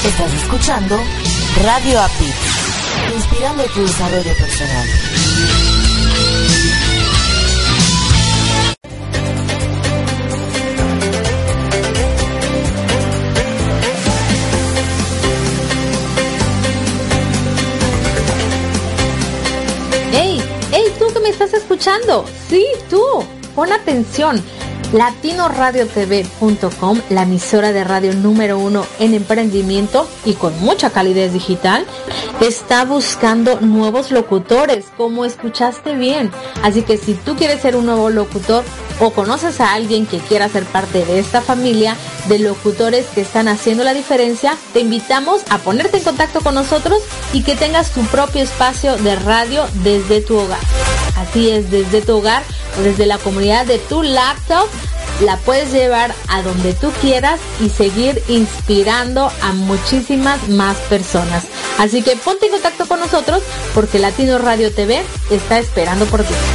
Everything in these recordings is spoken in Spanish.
Estás escuchando Radio API, inspirando tu desarrollo personal. ¡Hey! ¿Tú que me estás escuchando? Sí, tú. Pon atención. LatinoRadioTV.com, la emisora de radio número 1 en emprendimiento y con mucha calidez digital, está buscando nuevos locutores, como escuchaste bien. Así que si tú quieres ser un nuevo locutor o conoces a alguien que quiera ser parte de esta familia de locutores que están haciendo la diferencia, te invitamos a ponerte en contacto con nosotros y que tengas tu propio espacio de radio desde tu hogar. Así es, desde tu hogar o desde la comodidad de tu laptop, la puedes llevar a donde tú quieras y seguir inspirando a muchísimas más personas. Así que ponte en contacto con nosotros porque Latino Radio TV está esperando por ti.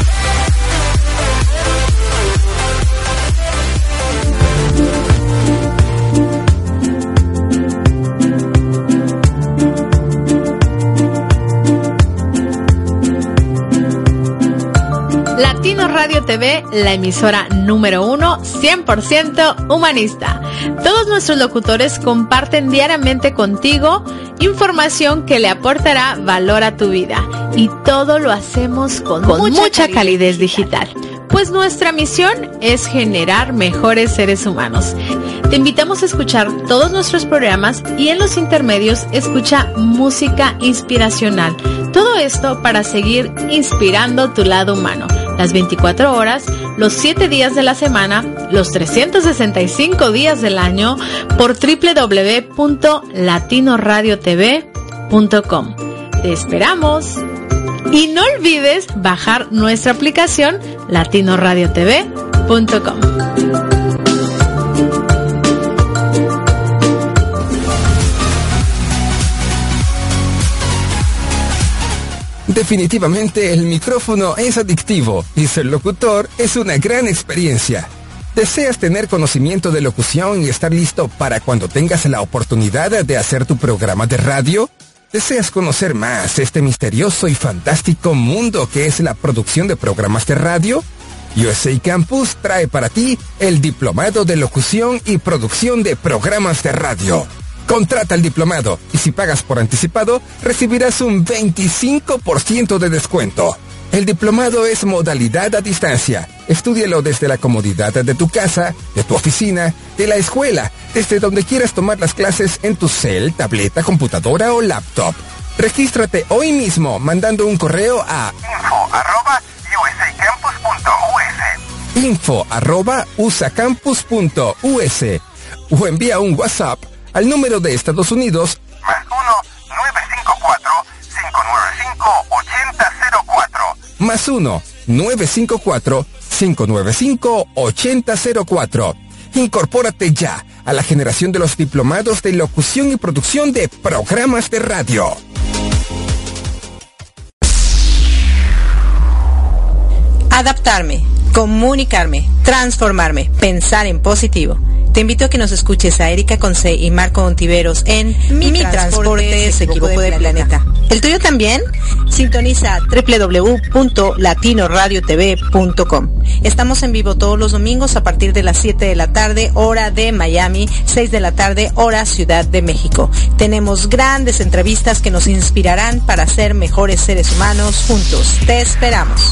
Latino Radio TV, la emisora número 1, 100% humanista. Todos nuestros locutores comparten diariamente contigo información que le aportará valor a tu vida. Y todo lo hacemos con mucha calidez digital. Pues nuestra misión es generar mejores seres humanos. Te invitamos a escuchar todos nuestros programas y en los intermedios escucha música inspiracional. Todo esto para seguir inspirando tu lado humano. Las 24 horas, los 7 días de la semana, los 365 días del año por www.latinoradiotv.com. ¡Te esperamos! Y no olvides bajar nuestra aplicación latinoradiotv.com. Definitivamente el micrófono es adictivo y ser locutor es una gran experiencia. ¿Deseas tener conocimiento de locución y estar listo para cuando tengas la oportunidad de hacer tu programa de radio? ¿Deseas conocer más este misterioso y fantástico mundo que es la producción de programas de radio? USA Campus trae para ti el Diplomado de Locución y Producción de Programas de Radio. Contrata el diplomado y si pagas por anticipado, recibirás un 25% de descuento. El diplomado es modalidad a distancia. Estúdialo desde la comodidad de tu casa, de tu oficina, de la escuela, desde donde quieras tomar las clases en tu cel, tableta, computadora o laptop. Regístrate hoy mismo mandando un correo a info@usacampus.us o envía un WhatsApp al número de Estados Unidos +1-954-595-8004 +1-954-595-8004. Incorpórate ya a la generación de los diplomados de locución y producción de programas de radio. Adaptarme, comunicarme, transformarme, pensar en positivo. Te invito a que nos escuches a Erika Conce y Marco Ontiveros en Mi transporte se equivocó de planeta. ¿El tuyo también? Sintoniza www.latinoradiotv.com. Estamos en vivo todos los domingos a partir de las 7 de la tarde, hora de Miami, 6 de la tarde, hora Ciudad de México. Tenemos grandes entrevistas que nos inspirarán para ser mejores seres humanos juntos. Te esperamos.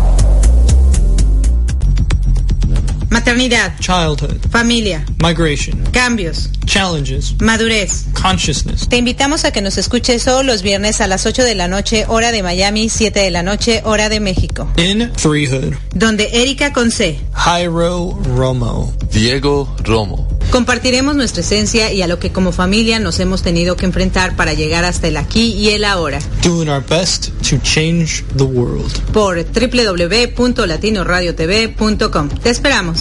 Maternidad, childhood, familia, migration, cambios, challenges, madurez, consciousness. Te invitamos a que nos escuches todos los viernes a las 8 de la noche, hora de Miami, 7 de la noche, hora de México. In Threehood, donde Erika Conce, Jairo Romo, Diego Romo. Compartiremos nuestra esencia y a lo que como familia nos hemos tenido que enfrentar para llegar hasta el aquí y el ahora. Doing our best to change the world. Por www.latinoradiotv.com. Te esperamos.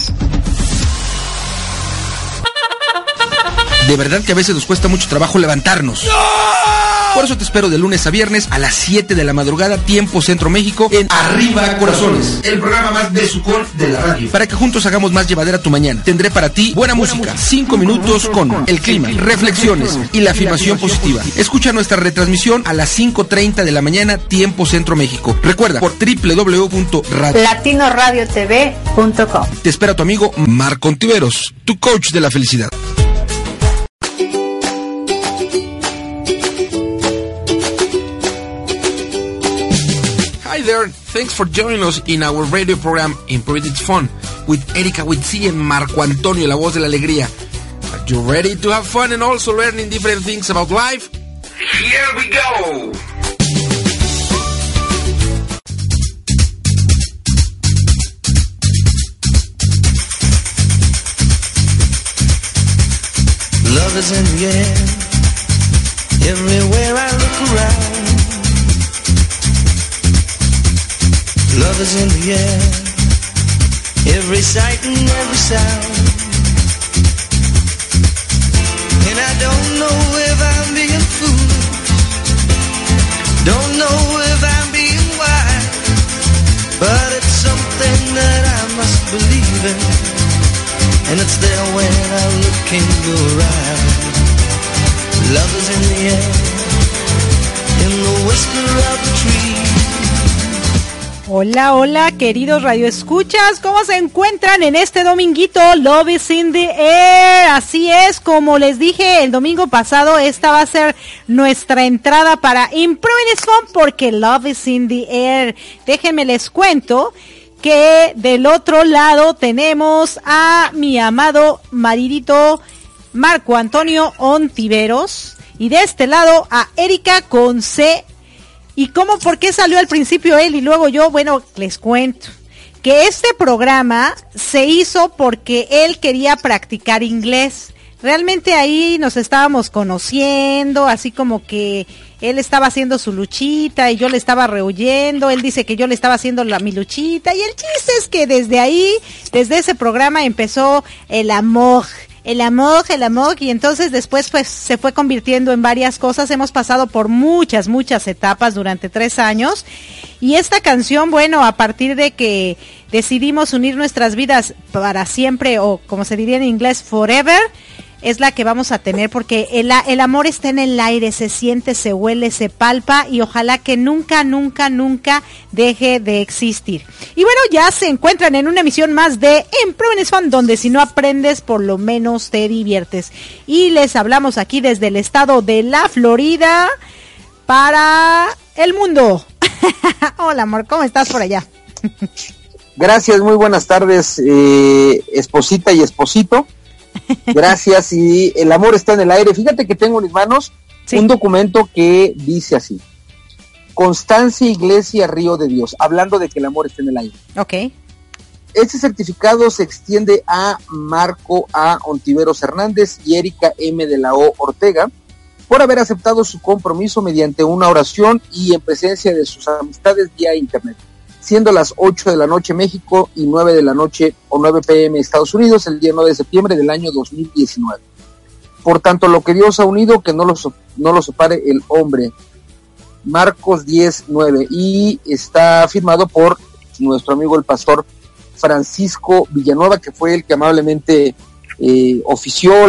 De verdad que a veces nos cuesta mucho trabajo levantarnos. ¡No! Por eso te espero de lunes a viernes a las 7 de la madrugada, tiempo Centro México, en Arriba Corazones, el programa más besucón de la radio, para que juntos hagamos más llevadera tu mañana. Tendré para ti buena música, 5 minutos con el clima, reflexiones y la afirmación positiva. Escucha nuestra retransmisión a las 5:30 de la mañana, tiempo Centro México. Recuerda, por www.latinoradiotv.com. Te espera tu amigo Marco Ontiveros, tu coach de la felicidad. Hi there, thanks for joining us in our radio program Improve It's Fun with Erika Witsi and Marco Antonio, la voz de la alegría. Are you ready to have fun and also learning different things about life? Here we go! Love is in the air, everywhere I look around. Love is in the air, every sight and every sound. And I don't know if I'm being foolish, don't know if I'm being wise, but it's something that I must believe in, and it's there when I look in your eyes. Love is in the air, in the whisper of the tree. Hola, hola, queridos radioescuchas, ¿cómo se encuentran en este dominguito? Love is in the air, así es, como les dije el domingo pasado, esta va a ser nuestra entrada para Improving is Fun, porque Love is in the air. Déjenme les cuento que del otro lado tenemos a mi amado maridito Marco Antonio Ontiveros, y de este lado a Erika con C. ¿Y cómo, por qué salió al principio él y luego yo? Bueno, les cuento que este programa se hizo porque él quería practicar inglés. Realmente ahí nos estábamos conociendo, así como que él estaba haciendo su luchita y yo le estaba rehuyendo. Él dice que yo le estaba haciendo mi luchita, y el chiste es que desde ahí, desde ese programa empezó el amor, y entonces después pues se fue convirtiendo en varias cosas. Hemos pasado por muchas etapas durante 3 años, y esta canción, bueno, a partir de que decidimos unir nuestras vidas para siempre, o como se diría en inglés, forever, es la que vamos a tener, porque el amor está en el aire, se siente, se huele, se palpa, y ojalá que nunca deje de existir. Y bueno, ya se encuentran en una emisión más de Improving is Fun, donde si no aprendes, por lo menos te diviertes. Y les hablamos aquí desde el estado de la Florida para el mundo. Hola, amor, ¿cómo estás por allá? Gracias, muy buenas tardes, esposita y esposito. Gracias, y el amor está en el aire. Fíjate que tengo en mis manos un documento que dice así: Constancia Iglesia Río de Dios, hablando de que el amor está en el aire. Okay. Este certificado se extiende a Marco A. Ontiveros Hernández y Erika M. de la O. Ortega por haber aceptado su compromiso mediante una oración y en presencia de sus amistades vía internet, siendo las 8 de la noche México y 9 de la noche o 9 p.m. Estados Unidos, el día 9 de septiembre del año 2019. Por tanto, lo que Dios ha unido, que no lo separe el hombre. Marcos 10:9, y está firmado por nuestro amigo el pastor Francisco Villanueva, que fue el que amablemente ofició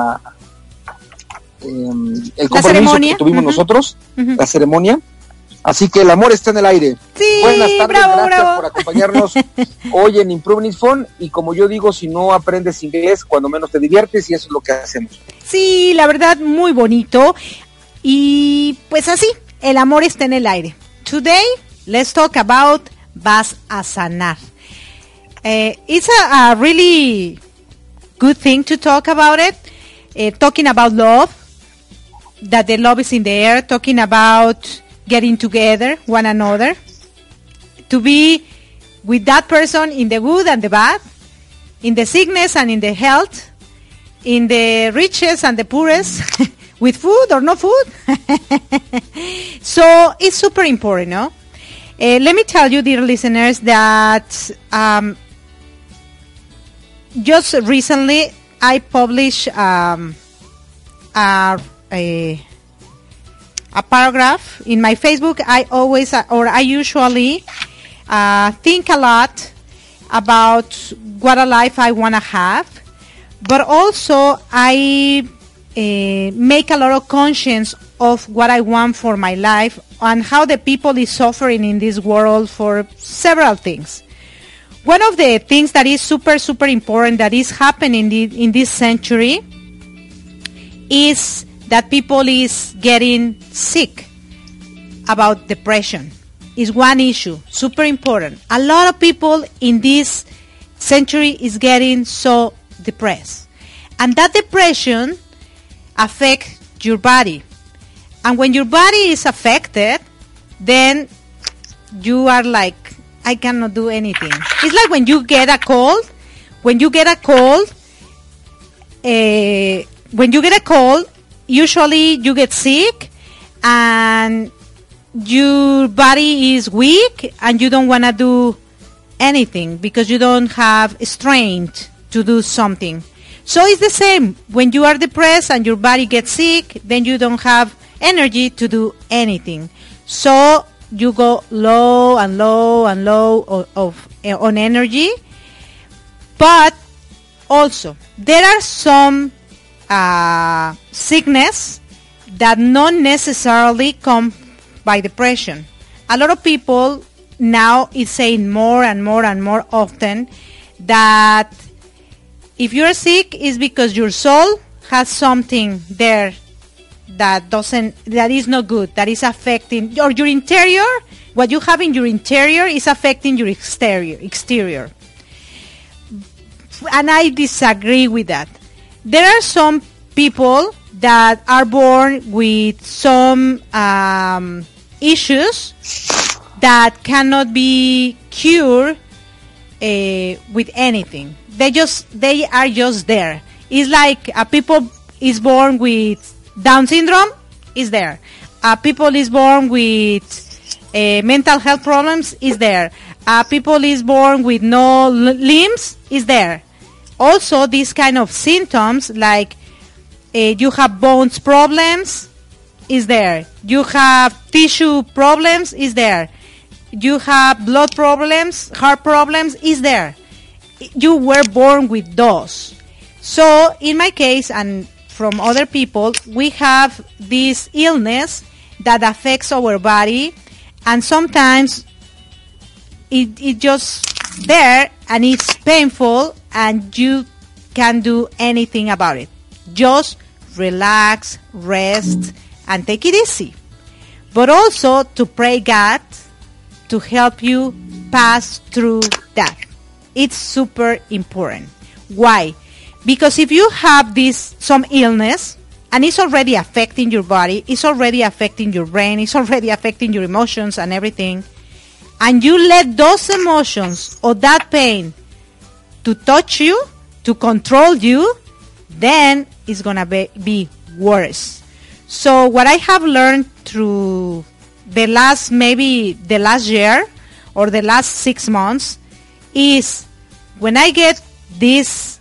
el compromiso que tuvimos nosotros, la ceremonia. Así que el amor está en el aire. Sí, buenas tardes, bravo, gracias bravo. por acompañarnos hoy en Improving is Fun, y como yo digo, si no aprendes inglés, cuando menos te diviertes, y eso es lo que hacemos. Sí, la verdad, muy bonito. Y pues así, el amor está en el aire. Today, let's talk about vas a sanar. It's a really good thing to talk about it. Talking about love, that the love is in the air, talking about getting together, one another, to be with that person in the good and the bad, in the sickness and in the health, in the richest and the poorest, with food or no food. So it's super important, no? Let me tell you, dear listeners, that just recently I published a a paragraph in my Facebook. I usually think a lot about what a life I want to have, but also I make a lot of conscience of what I want for my life and how the people is suffering in this world for several things. One of the things that is super, super important that is happening in this century is that people is getting sick about depression. Is one issue, super important. A lot of people in this century is getting so depressed. And that depression affects your body. And when your body is affected, then you are like, I cannot do anything. It's like when you get a cold. When you get a cold, usually you get sick and your body is weak and you don't want to do anything because you don't have strength to do something. So it's the same. When you are depressed and your body gets sick, then you don't have energy to do anything. So you go low and low and low on energy. But also, there are some sickness that not necessarily come by depression. A lot of people now is saying more and more and more often that if you're sick, it's because your soul has something there that is not good, that is affecting, or your interior, what you have in your interior is affecting your exterior. And I disagree with that. There are some people that are born with some issues that cannot be cured with anything. They are just there. It's like people is born with Down syndrome, is there. People is born with mental health problems, is there. People is born with no limbs, is there. Also, these kind of symptoms like you have bones problems, is there. You have tissue problems, is there. You have blood problems, heart problems, is there. You were born with those. So, in my case, and from other people, we have this illness that affects our body, and sometimes it just there and it's painful and you can't do anything about it. Just relax, rest, and take it easy. But also to pray God to help you pass through that. It's super important. Why? Because if you have some illness and it's already affecting your body, it's already affecting your brain, it's already affecting your emotions and everything, and you let those emotions or that pain to touch you, to control you, then it's going to be worse. So what I have learned through the last year or the last 6 months is when I get this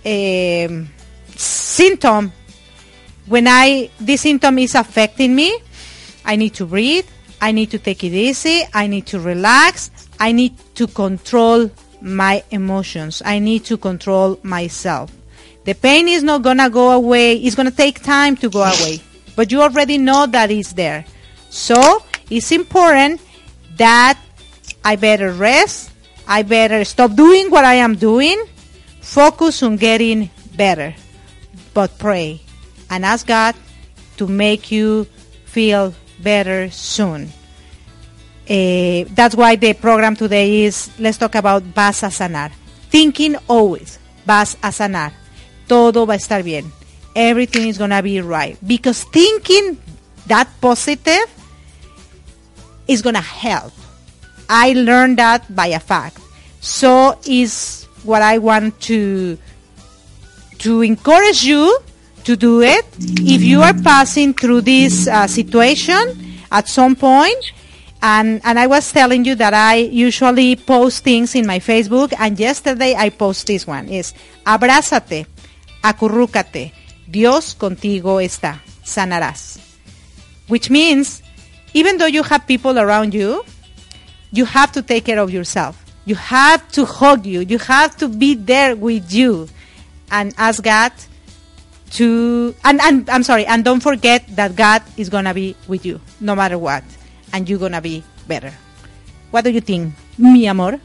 symptom, this symptom is affecting me, I need to breathe, I need to take it easy, I need to relax, I need to control my emotions, I need to control myself. The pain is not going to go away, it's going to take time to go away, but you already know that it's there. So it's important that I better rest, I better stop doing what I am doing, focus on getting better, but pray and ask God to make you feel better soon. That's why the program today is, let's talk about vas a sanar. Thinking always, vas a sanar. Todo va a estar bien. Everything is going to be right. Because thinking that positive is going to help. I learned that by a fact. So is what I want to encourage you to do it. If you are passing through this situation at some point, and I was telling you that I usually post things in my Facebook, and yesterday I post this one, is abrázate, acurrúcate, Dios contigo está, sanarás. which means even though you have people around you, you have to take care of yourself. You have to hug you. You have to be there with you and ask God to, and I'm sorry, and don't forget that God is going to be with you no matter what, and you're going to be better. What do you think, mi amor?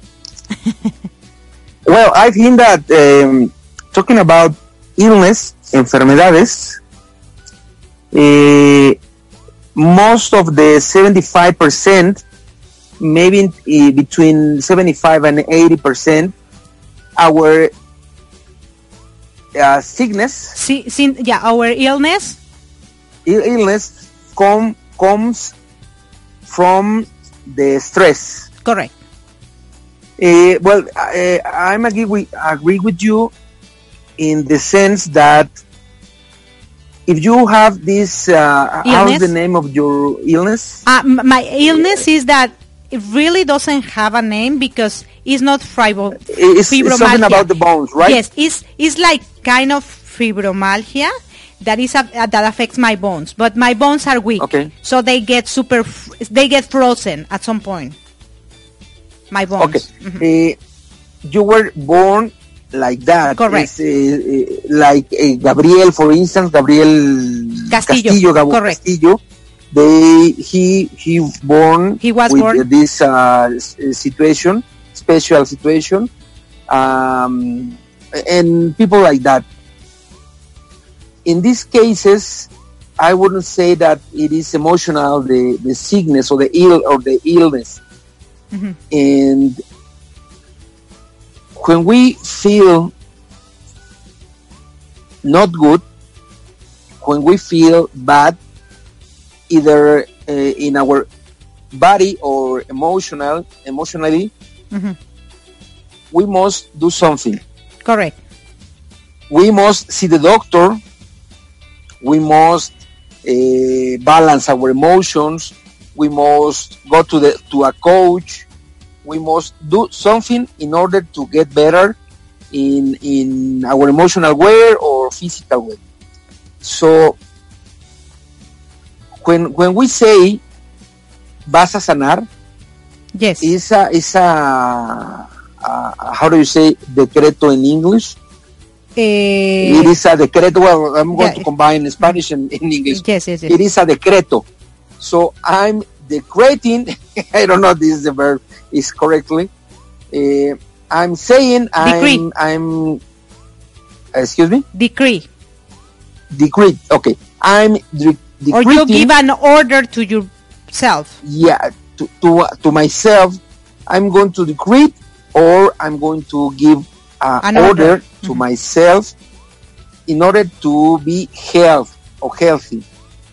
Well, I think that talking about illness, enfermedades, most of the 75%, maybe between 75 and 80%, our sickness, our illness comes from the stress. Correct. Well, I'm agree with you in the sense that if you have this, how's the name of your illness? My illness is that it really doesn't have a name because it's not fibromyalgia. It's something about the bones, right? Yes, it's like kind of fibromyalgia that affects my bones, but my bones are weak, so they get frozen at some point. My bones. Okay, Mm-hmm. You were born like that. Correct. Like Gabriel, for instance, Gabriel Castillo. Castillo. He was born with this situation, special situation, and people like that. In these cases, I wouldn't say that it is emotional, the sickness or the illness. Mm-hmm. And when we feel not good, when we feel bad, either in our body or emotionally, mm-hmm. we must do something. Correct. We must see the doctor. We must balance our emotions. We must go to a coach. We must do something in order to get better in our emotional way or physical way. So when we say vas a sanar, yes, is a how do you say decreto in English? It is a decreto. Well, I'm going to combine Spanish and English. Yes. It is a decreto. So I'm decreting. I don't know if this is the verb is correctly. I'm saying I'm. Excuse me. Decree. Okay. I'm decreting. Or you give an order to yourself. Yeah, to myself. I'm going to decree, or I'm going to give an order to mm-hmm. myself in order to be healthy.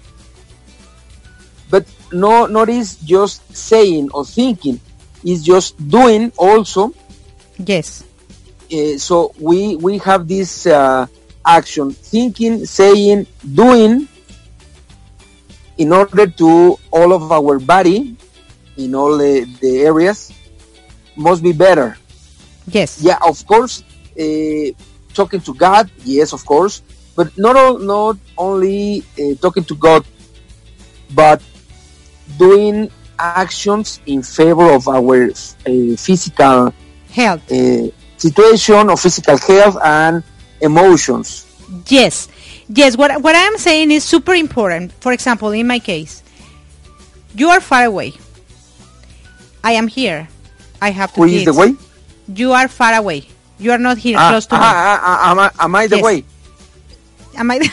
But not is just saying or thinking, it's just doing also. Yes. So we have this action, thinking, saying, doing, in order to all of our body, in all the areas, must be better. Yes. Yeah, of course, talking to God, yes, of course, but not only talking to God, but doing actions in favor of our physical health situation, or physical health and emotions. Yes. What I am saying is super important. For example, in my case, you are far away. I am here. I have to. Who is the way? You are far away. You are not here close to me. Am I the way? Am I?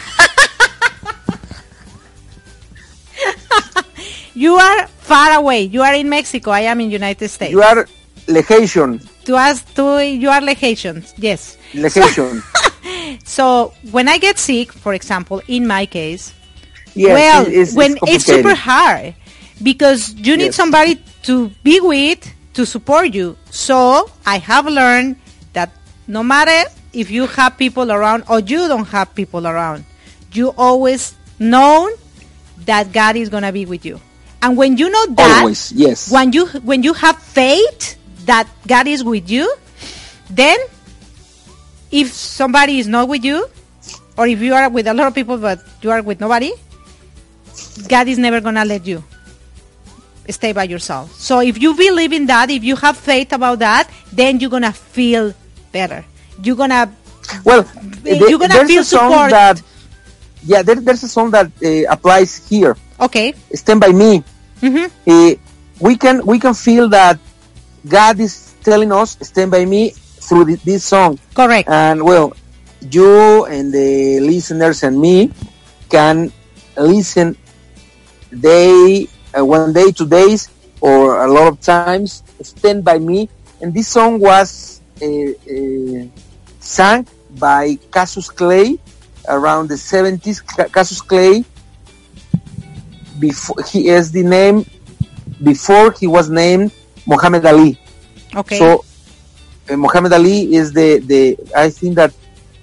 You are far away. You are in Mexico. I am in United States. You are legation. You are legation. Yes. Legation. So when I get sick, for example, in my case, yes, it's super hard because you need somebody to be with to support you. So I have learned that no matter if you have people around or you don't have people around, you always know that God is going to be with you. And when you know that, always, yes. When you have faith that God is with you, then if somebody is not with you, or if you are with a lot of people but you are with nobody, God is never gonna let you stay by yourself. So if you believe in that, if you have faith about that, then you're gonna feel better. You're gonna there's feel a song support. that there's a song that applies here. Okay. Stand by Me. Mm-hmm. We can feel that God is telling us stand by me through this song. Correct. And well, you and the listeners and me can listen one day, 2 days, or a lot of times, stand by me. And this song was sung by Cassius Clay around the 70s. Cassius Clay, before he was named Muhammad Ali. Okay. So Muhammad Ali is the I think that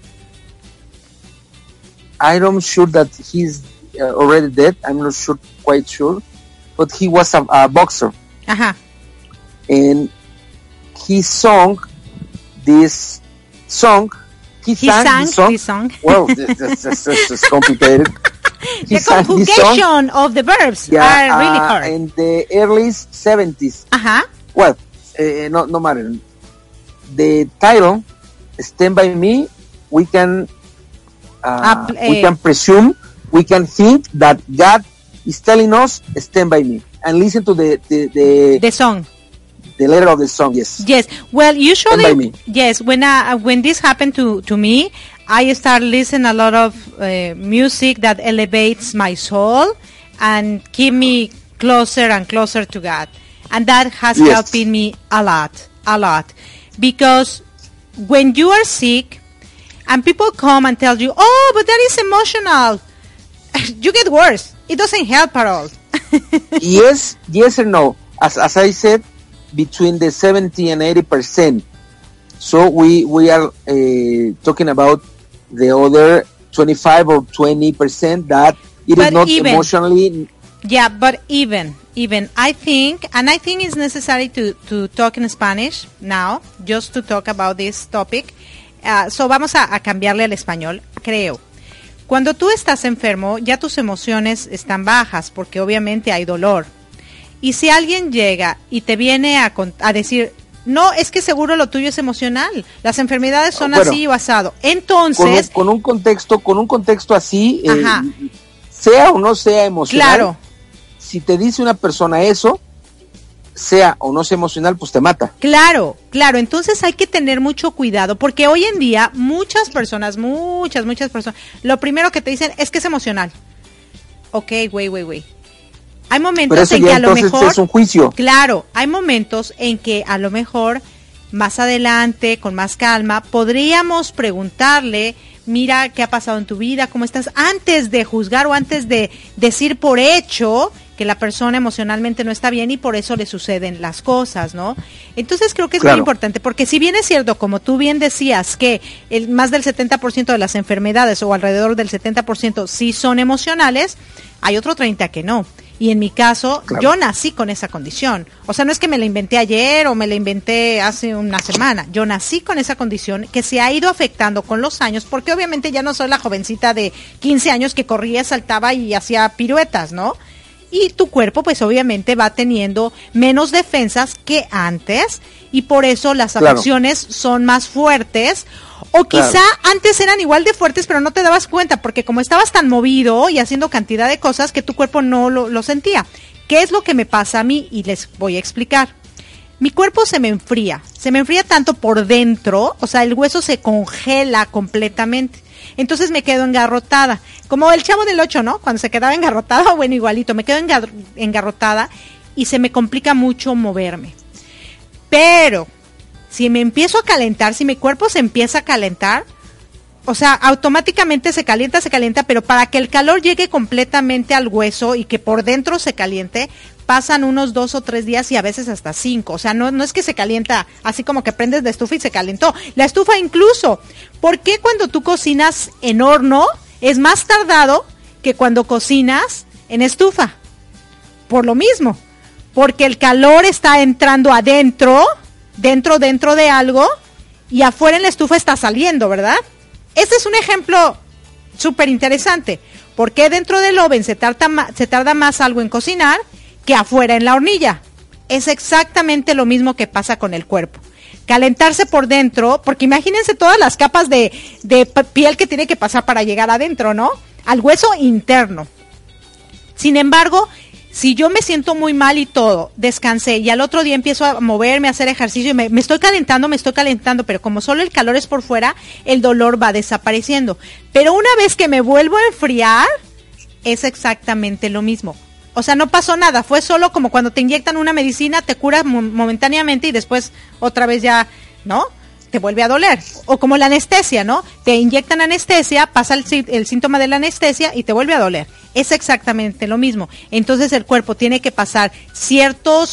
I'm sure that he's already dead. I'm not quite sure, but he was a boxer. Uh-huh. And he sang this song. He sang this song. Well, this complicated. The conjugation of the verbs are really hard. In the early 70s. Uh-huh. Well, no matter. The title, Stand By Me, we can presume, we can think that God is telling us, stand by me. And listen to the song. The letter of the song, yes. Yes. Well, usually, yes, when this happened to me, I start listening a lot of music that elevates my soul and keep me closer and closer to God. And that has helped me a lot. Because when you are sick and people come and tell you, oh, but that is emotional, you get worse. It doesn't help at all. yes or no. As I said, between the 70 and 80%. So we are talking about the other 25 or 20% that it is not emotionally. Yeah, but even I think it's necessary to talk in Spanish now, just to talk about this topic. So vamos a cambiarle al español, creo. Cuando tú estás enfermo, ya tus emociones están bajas, porque obviamente hay dolor. Y si alguien llega y te viene a decir, no, es que seguro lo tuyo es emocional, las enfermedades son así o asado. Entonces, con un contexto así, sea o no sea emocional. Claro. Si te dice una persona eso, sea o no sea emocional, pues te mata. Claro. Entonces hay que tener mucho cuidado, porque hoy en día muchas personas, lo primero que te dicen es que es emocional. Ok, güey. Hay momentos en que a lo mejor es un juicio. Claro, hay momentos en que a lo mejor más adelante, con más calma, podríamos preguntarle, mira, ¿qué ha pasado en tu vida? ¿Cómo estás? Antes de juzgar o antes de decir por hecho que la persona emocionalmente no está bien y por eso le suceden las cosas, ¿no? Entonces creo que es muy importante, porque si bien es cierto, como tú bien decías, que más del 70% de las enfermedades o alrededor del 70% sí son emocionales, hay otro 30% que no. Y en mi caso, yo nací con esa condición. O sea, no es que me la inventé ayer o me la inventé hace una semana. Yo nací con esa condición que se ha ido afectando con los años, porque obviamente ya no soy la jovencita de 15 años que corría, saltaba y hacía piruetas, ¿no? Y tu cuerpo, pues obviamente va teniendo menos defensas que antes, y por eso las afecciones son más fuertes. O quizá antes eran igual de fuertes, pero no te dabas cuenta, porque como estabas tan movido y haciendo cantidad de cosas que tu cuerpo no lo sentía. ¿Qué es lo que me pasa a mí? Y les voy a explicar. Mi cuerpo se me enfría tanto por dentro, o sea, el hueso se congela completamente. Entonces me quedo engarrotada, como el Chavo del 8, ¿no? Cuando se quedaba engarrotada, bueno, igualito, me quedo engarrotada y se me complica mucho moverme. Pero si me empiezo a calentar, si mi cuerpo se empieza a calentar, o sea, automáticamente se calienta, pero para que el calor llegue completamente al hueso y que por dentro se caliente, pasan unos 2 o 3 días y a veces hasta 5. O sea, no es que se calienta así como que prendes la estufa y se calentó. La estufa incluso. ¿Por qué cuando tú cocinas en horno es más tardado que cuando cocinas en estufa? Por lo mismo. Porque el calor está entrando adentro, dentro de algo, y afuera en la estufa está saliendo, ¿verdad? Este es un ejemplo súper interesante. ¿Por qué dentro del oven se tarda más algo en cocinar que afuera en la hornilla? Es exactamente lo mismo que pasa con el cuerpo. Calentarse por dentro, porque imagínense todas las capas de piel que tiene que pasar para llegar adentro, ¿no? Al hueso interno. Sin embargo, si yo me siento muy mal y todo, descansé y al otro día empiezo a moverme, a hacer ejercicio y me estoy calentando, pero como solo el calor es por fuera, el dolor va desapareciendo. Pero una vez que me vuelvo a enfriar, es exactamente lo mismo. O sea, no pasó nada, fue solo como cuando te inyectan una medicina, te cura momentáneamente y después otra vez ya, ¿no? Te vuelve a doler. O como la anestesia, ¿no? Te inyectan anestesia, pasa el síntoma de la anestesia y te vuelve a doler. Es exactamente lo mismo. Entonces el cuerpo tiene que pasar cierto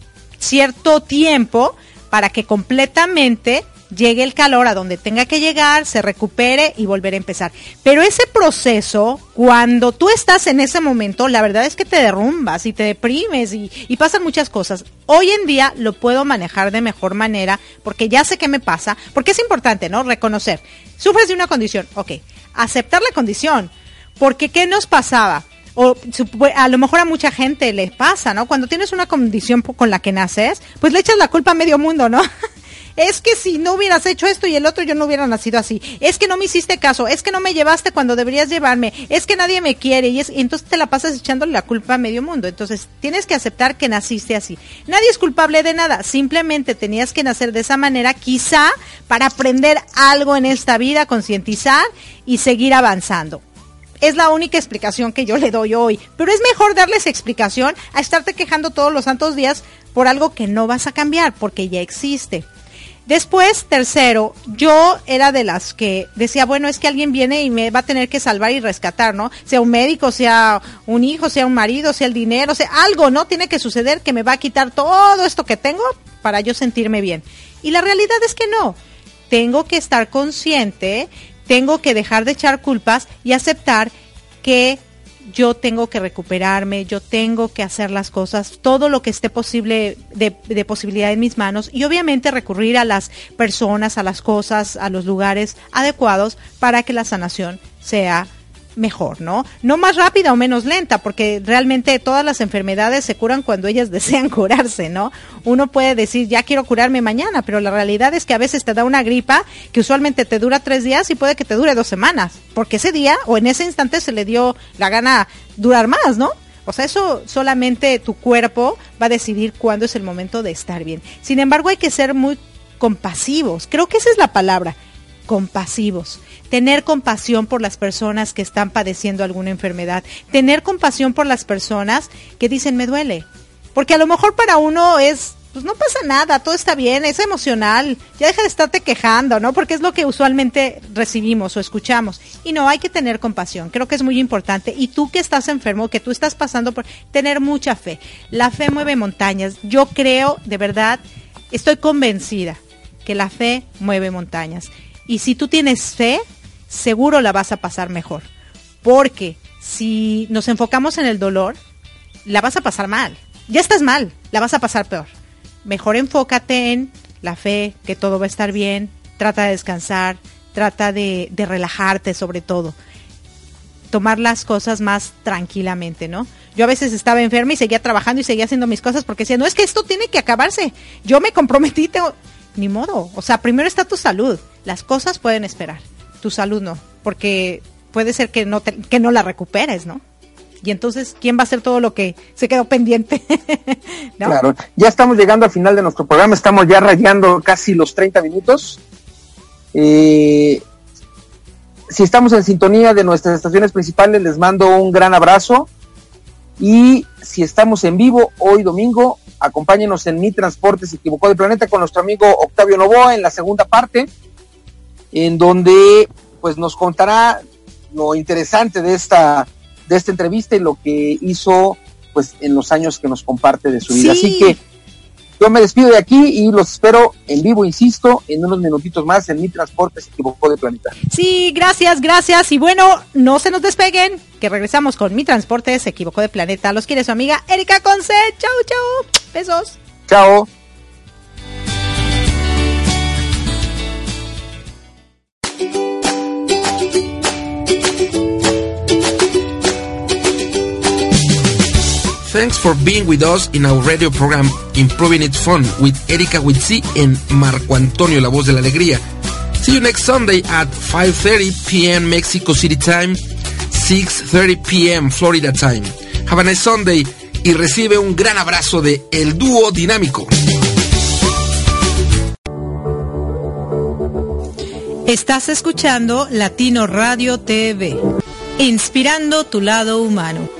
tiempo para que completamente llegue el calor a donde tenga que llegar, se recupere y volver a empezar. Pero ese proceso, cuando tú estás en ese momento, la verdad es que te derrumbas y te deprimes y pasan muchas cosas. Hoy en día lo puedo manejar de mejor manera porque ya sé qué me pasa, porque es importante, ¿no? Reconocer. Sufres de una condición, ok. Aceptar la condición, porque ¿qué nos pasaba? O a lo mejor a mucha gente le pasa, ¿no? Cuando tienes una condición con la que naces, pues le echas la culpa a medio mundo, ¿no? Es que si no hubieras hecho esto y el otro, yo no hubiera nacido así. Es que no me hiciste caso, es que no me llevaste cuando deberías llevarme, es que nadie me quiere y entonces te la pasas echándole la culpa a medio mundo. Entonces tienes que aceptar que naciste así. Nadie es culpable de nada, simplemente tenías que nacer de esa manera, quizá para aprender algo en esta vida, concientizar y seguir avanzando. Es la única explicación que yo le doy hoy, pero es mejor darles explicación a estarte quejando todos los santos días por algo que no vas a cambiar, porque ya existe. Después, tercero, yo era de las que decía, bueno, es que alguien viene y me va a tener que salvar y rescatar, ¿no? Sea un médico, sea un hijo, sea un marido, sea el dinero, sea algo, ¿no? Tiene que suceder que me va a quitar todo esto que tengo para yo sentirme bien. Y la realidad es que no. Tengo que estar consciente, tengo que dejar de echar culpas y aceptar que yo tengo que recuperarme, yo tengo que hacer las cosas, todo lo que esté posible de posibilidad en mis manos y obviamente recurrir a las personas, a las cosas, a los lugares adecuados para que la sanación sea mejor, ¿no? No más rápida o menos lenta, porque realmente todas las enfermedades se curan cuando ellas desean curarse, ¿no? Uno puede decir, ya quiero curarme mañana, pero la realidad es que a veces te da una gripa que usualmente te dura 3 días y puede que te dure 2 semanas, porque ese día o en ese instante se le dio la gana durar más, ¿no? O sea, eso solamente tu cuerpo va a decidir cuándo es el momento de estar bien. Sin embargo, hay que ser muy compasivos, creo que esa es la palabra, compasivos. Tener compasión por las personas que están padeciendo alguna enfermedad, tener compasión por las personas que dicen me duele, porque a lo mejor para uno es, pues no pasa nada, todo está bien, es emocional, ya deja de estarte quejando, ¿no? Porque es lo que usualmente recibimos o escuchamos, y no, hay que tener compasión, creo que es muy importante, y tú que estás enfermo, que tú estás pasando por, tener mucha fe, la fe mueve montañas, yo creo, de verdad, estoy convencida que la fe mueve montañas, y si tú tienes fe, seguro la vas a pasar mejor, porque si nos enfocamos en el dolor, la vas a pasar mal, ya estás mal, la vas a pasar peor. Mejor enfócate en la fe, que todo va a estar bien, trata de descansar, trata de relajarte sobre todo, tomar las cosas más tranquilamente, ¿no? Yo a veces estaba enferma y seguía trabajando y seguía haciendo mis cosas porque decía, no, es que esto tiene que acabarse, yo me comprometí, ni modo, o sea, primero está tu salud, las cosas pueden esperar, tu salud no, porque puede ser que no la recuperes, ¿no? Y entonces, ¿quién va a hacer todo lo que se quedó pendiente? ¿No? Claro, ya estamos llegando al final de nuestro programa, estamos ya rayando casi los 30 minutos. Si estamos en sintonía de nuestras estaciones principales, les mando un gran abrazo. Y si estamos en vivo hoy domingo, acompáñenos en Mi Transporte se equivocó de planeta con nuestro amigo Octavio Novoa en la segunda parte, en donde pues nos contará lo interesante de esta entrevista y lo que hizo pues en los años que nos comparte de su vida. Sí. Así que yo me despido de aquí y los espero en vivo, insisto, en unos minutitos más en Mi Transporte se equivocó de planeta. Sí, gracias, y bueno, no se nos despeguen, que regresamos con Mi Transporte se equivocó de planeta. Los quiere su amiga Erika Conce. Chau, besos. Chao. Thanks for being with us in our radio program Improving It Fun with Erika Witsi and Marco Antonio, la voz de la alegría. See you next Sunday at 5:30 p.m. Mexico City time, 6:30 p.m. Florida time. Have a nice Sunday y recibe un gran abrazo de El Dúo Dinámico. Estás escuchando Latino Radio TV, inspirando tu lado humano.